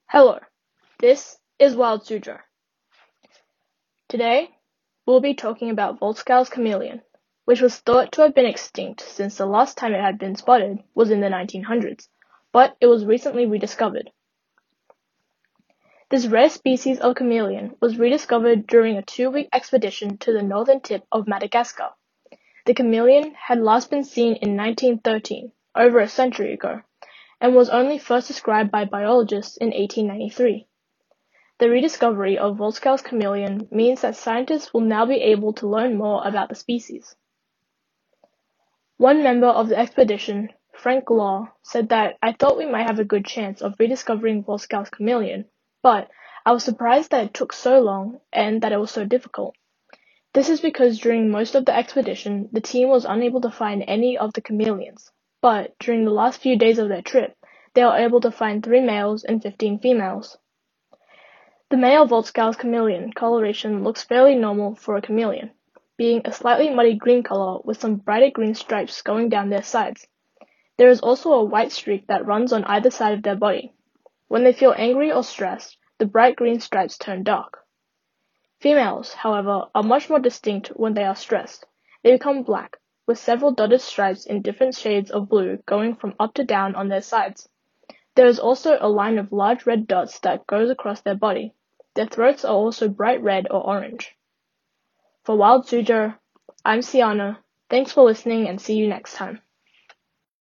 Hello, this is Wild Suzhou. Today, we'll be talking about Volscau's chameleon, which was thought to have been extinct since the last time it had been spotted was in the 1900s, but it was recently rediscovered. This rare species of chameleon was rediscovered during a 2-week expedition to the northern tip of Madagascar. The chameleon had last been seen in 1913, over a century ago, and was only first described by biologists in 1893. The rediscovery of Volscau's chameleon means that scientists will now be able to learn more about the species. One member of the expedition, Frank Law, said that I thought we might have a good chance of rediscovering Volscau's chameleon, but I was surprised that it took so long and that it was so difficult. This is because during most of the expedition, the team was unable to find any of the chameleons, but during the last few days of their trip, they were able to find 3 males and 15 females. The male Volscau's chameleon coloration looks fairly normal for a chameleon, being a slightly muddy green color with some brighter green stripes going down their sides. There is also a white streak that runs on either side of their body. When they feel angry or stressed, the bright green stripes turn dark. Females, however, are much more distinct when they are stressed. They become black, with several dotted stripes in different shades of blue going from up to down on their sides. There is also a line of large red dots that goes across their body. Their throats are also bright red or orange. For Wild Suzhou, I'm Siana. Thanks for listening and see you next time.